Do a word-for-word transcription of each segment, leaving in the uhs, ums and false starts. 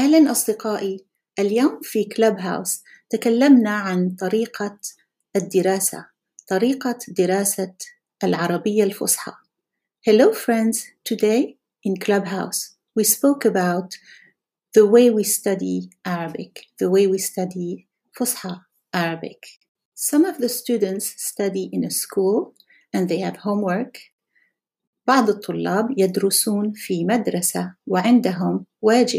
أهلاً أصدقائي. اليوم في كلاب هاوس تكلمنا عن طريقة الدراسة، طريقة دراسة العربية الفصحى. Hello friends, today in Clubhouse we spoke about the way we study Arabic, the way we study Fusha Arabic. Some of the students study in a school and they have homework. بعض الطلاب يدرسون في مدرسة وعندهم واجب.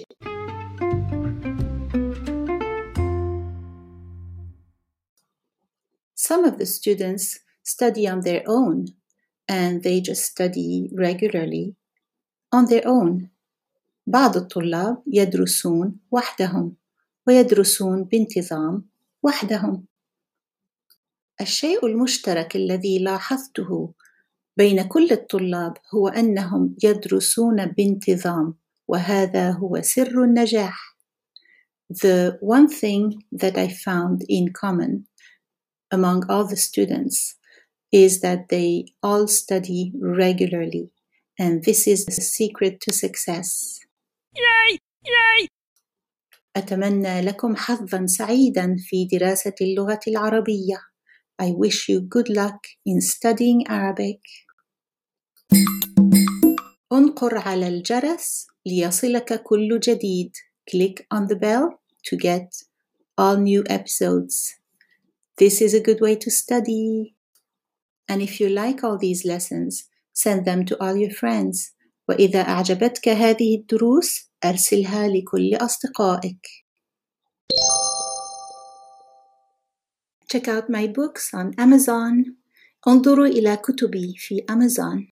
Some of the students study on their own and they just study regularly on their own. بعض الطلاب يدرسون وحدهم ويدرسون بانتظام وحدهم. الشيء المشترك الذي لاحظته بين كل الطلاب هو أنهم يدرسون بانتظام، وهذا هو سر النجاح. The one thing that I found in common among all the students is that they all study regularly, and this is the secret to success. Yay! Yay! أتمنى لكم حظاً سعيداً في دراسة اللغة العربية. I wish you good luck in studying Arabic. انقر على الجرس ليصلك كل جديد. Click on the bell to get all new episodes. This is a good way to study. And if you like all these lessons, send them to all your friends. وإذا أعجبتك هذه الدروس أرسلها لكل أصدقائك. Check out my books on Amazon. انظروا إلى كتبي في Amazon.